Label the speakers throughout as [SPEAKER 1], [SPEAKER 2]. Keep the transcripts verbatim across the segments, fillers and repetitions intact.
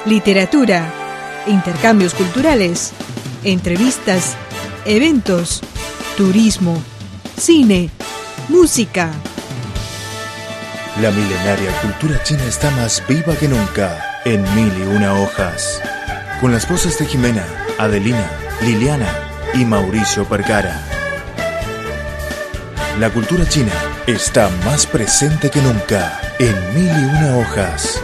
[SPEAKER 1] literatura, intercambios culturales, entrevistas, eventos, turismo, cine, música.
[SPEAKER 2] La milenaria cultura china está más viva que nunca en Mil y Una Hojas. Con las voces de Jimena, Adelina, Liliana y Mauricio Percara. La cultura china está más presente que nunca en Mil y Una Hojas.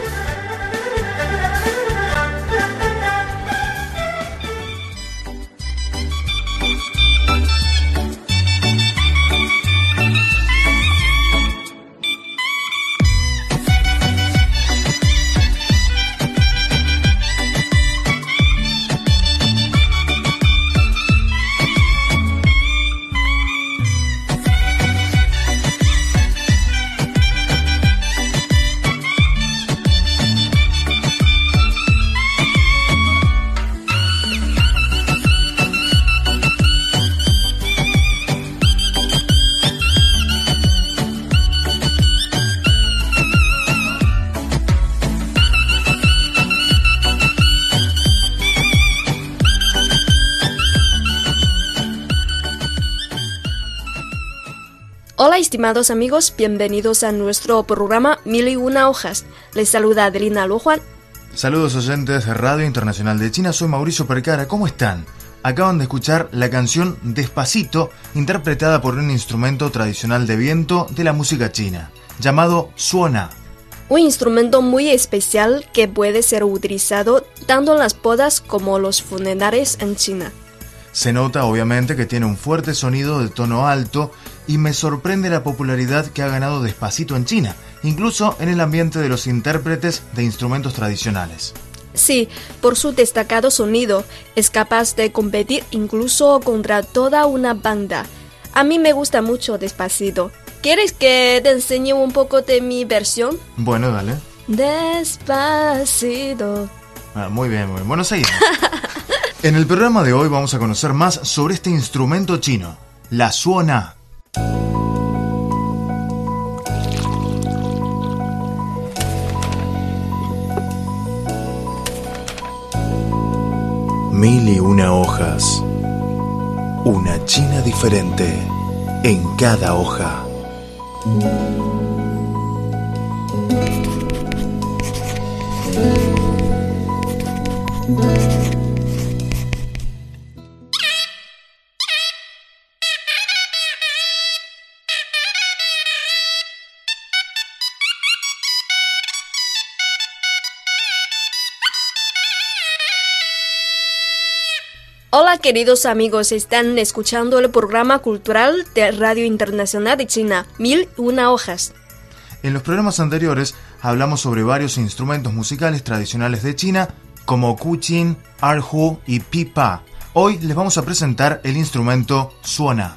[SPEAKER 3] Hola estimados amigos, bienvenidos a nuestro programa Mil y Una Hojas. Les saluda Adelina Luojuan.
[SPEAKER 2] Saludos oyentes de Radio Internacional de China, soy Mauricio Percara, ¿cómo están? Acaban de escuchar la canción Despacito, interpretada por un instrumento tradicional de viento de la música china, llamado suona.
[SPEAKER 3] Un instrumento muy especial que puede ser utilizado tanto en las bodas como los funerales en China.
[SPEAKER 2] Se nota obviamente que tiene un fuerte sonido de tono alto y me sorprende la popularidad que ha ganado Despacito en China, incluso en el ambiente de los intérpretes de instrumentos tradicionales.
[SPEAKER 3] Sí, por su destacado sonido, es capaz de competir incluso contra toda una banda. A mí me gusta mucho Despacito. ¿Quieres que te enseñe un poco de mi versión?
[SPEAKER 2] Bueno, dale.
[SPEAKER 3] Despacito.
[SPEAKER 2] Ah, muy bien, muy bien. Bueno, seguimos. En el programa de hoy vamos a conocer más sobre este instrumento chino, la suona. Mil y una hojas. Una China diferente en cada hoja.
[SPEAKER 3] Hola queridos amigos, están escuchando el programa cultural de Radio Internacional de China, Mil y Una Hojas.
[SPEAKER 2] En los programas anteriores hablamos sobre varios instrumentos musicales tradicionales de China, como kuqin, erhu y pipa. Hoy les vamos a presentar el instrumento suona.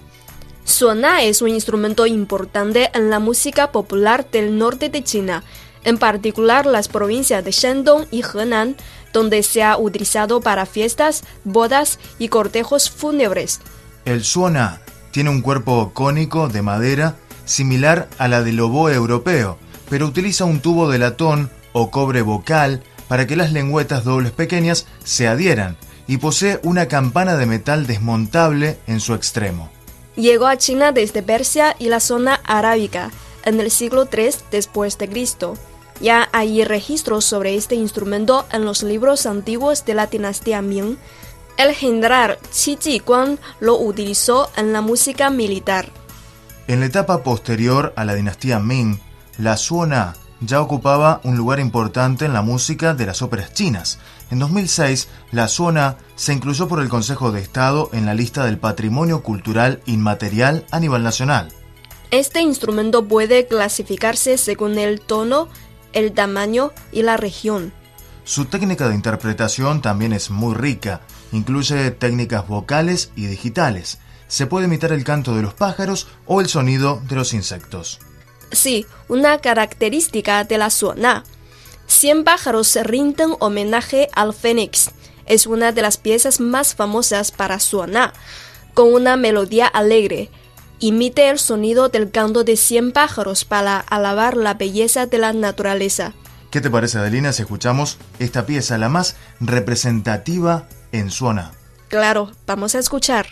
[SPEAKER 3] Suona es un instrumento importante en la música popular del norte de China, en particular las provincias de Shandong y Henan, donde se ha utilizado para fiestas, bodas y cortejos fúnebres.
[SPEAKER 2] El suona tiene un cuerpo cónico de madera similar a la del oboe europeo, pero utiliza un tubo de latón o cobre vocal para que las lengüetas dobles pequeñas se adhieran y posee una campana de metal desmontable en su extremo.
[SPEAKER 3] Llegó a China desde Persia y la zona arábica en el siglo tercero después de Cristo. Ya hay registros sobre este instrumento en los libros antiguos de la dinastía Ming. El general Qi Jiguang lo utilizó en la música militar.
[SPEAKER 2] En la etapa posterior a la dinastía Ming, la suona ya ocupaba un lugar importante en la música de las óperas chinas. En dos mil seis, la suona se incluyó por el Consejo de Estado en la lista del Patrimonio Cultural Inmaterial a nivel nacional.
[SPEAKER 3] Este instrumento puede clasificarse según el tono, el tamaño y la región.
[SPEAKER 2] Su técnica de interpretación también es muy rica, incluye técnicas vocales y digitales. Se puede imitar el canto de los pájaros o el sonido de los insectos.
[SPEAKER 3] Sí, una característica de la suona. Cien pájaros rinden homenaje al fénix. Es una de las piezas más famosas para suona, con una melodía alegre. Imite el sonido del canto de cien pájaros para alabar la belleza de la naturaleza.
[SPEAKER 2] ¿Qué te parece, Adelina, si escuchamos esta pieza, la más representativa en Suoná?
[SPEAKER 3] Claro, vamos a escuchar.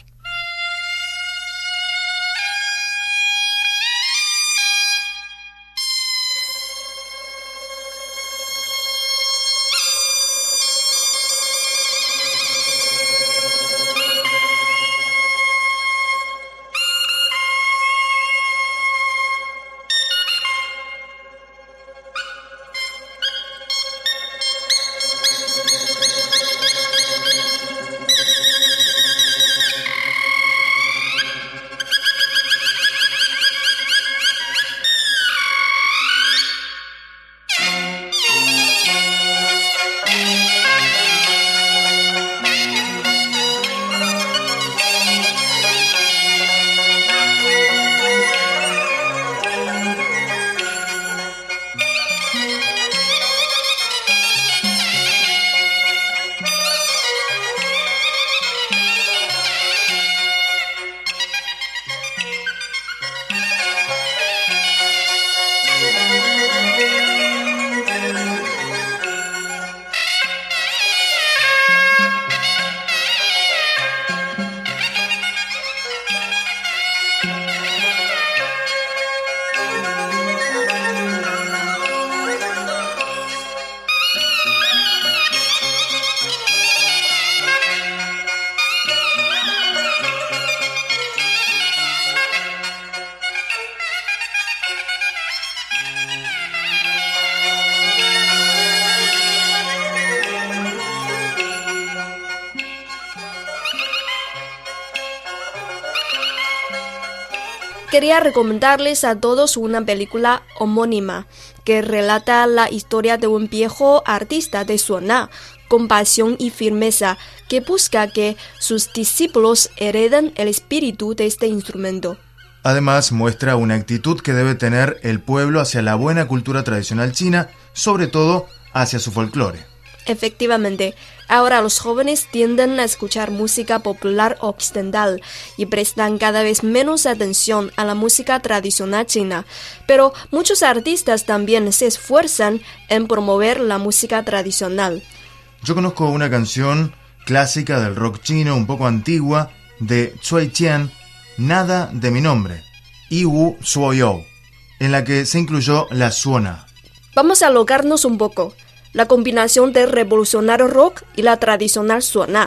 [SPEAKER 3] Quería recomendarles a todos una película homónima que relata la historia de un viejo artista de Suoná con pasión y firmeza que busca que sus discípulos hereden el espíritu de este instrumento.
[SPEAKER 2] Además, muestra una actitud que debe tener el pueblo hacia la buena cultura tradicional china, sobre todo hacia su folclore.
[SPEAKER 3] Efectivamente, ahora los jóvenes tienden a escuchar música popular occidental y prestan cada vez menos atención a la música tradicional china, pero muchos artistas también se esfuerzan en promover la música tradicional.
[SPEAKER 2] Yo conozco una canción clásica del rock chino, un poco antigua, de Cui Qian, Nada de mi nombre, Yi Wu Suo You, en la que se incluyó la Suoná.
[SPEAKER 3] Vamos a alocarnos un poco. La combinación del revolucionario rock y la tradicional Suoná.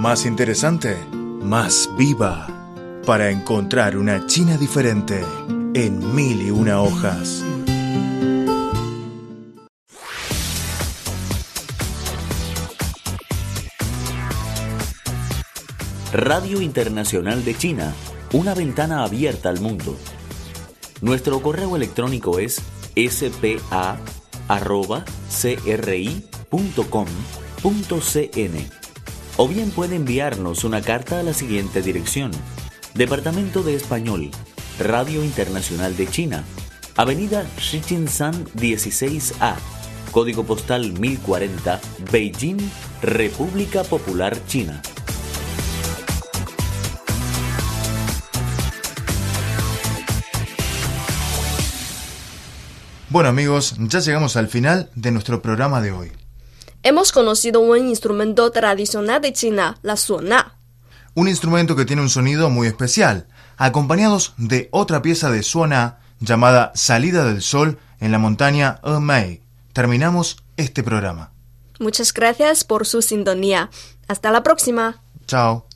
[SPEAKER 2] Más interesante, más viva, para encontrar una China diferente en mil y una hojas.
[SPEAKER 4] Radio Internacional de China, una ventana abierta al mundo. Nuestro correo electrónico es ese pe a arroba ce erre i punto com punto ce ene o bien puede enviarnos una carta a la siguiente dirección: Departamento de Español, Radio Internacional de China, Avenida Shijinshan dieciséis A, Código Postal mil cuarenta, Beijing, República Popular China.
[SPEAKER 2] Bueno amigos, ya llegamos al final de nuestro programa de hoy.
[SPEAKER 3] Hemos conocido un instrumento tradicional de China, la suona.
[SPEAKER 2] Un instrumento que tiene un sonido muy especial, acompañados de otra pieza de suona llamada Salida del Sol en la montaña Emei. Terminamos este programa.
[SPEAKER 3] Muchas gracias por su sintonía. Hasta la próxima.
[SPEAKER 2] Chao.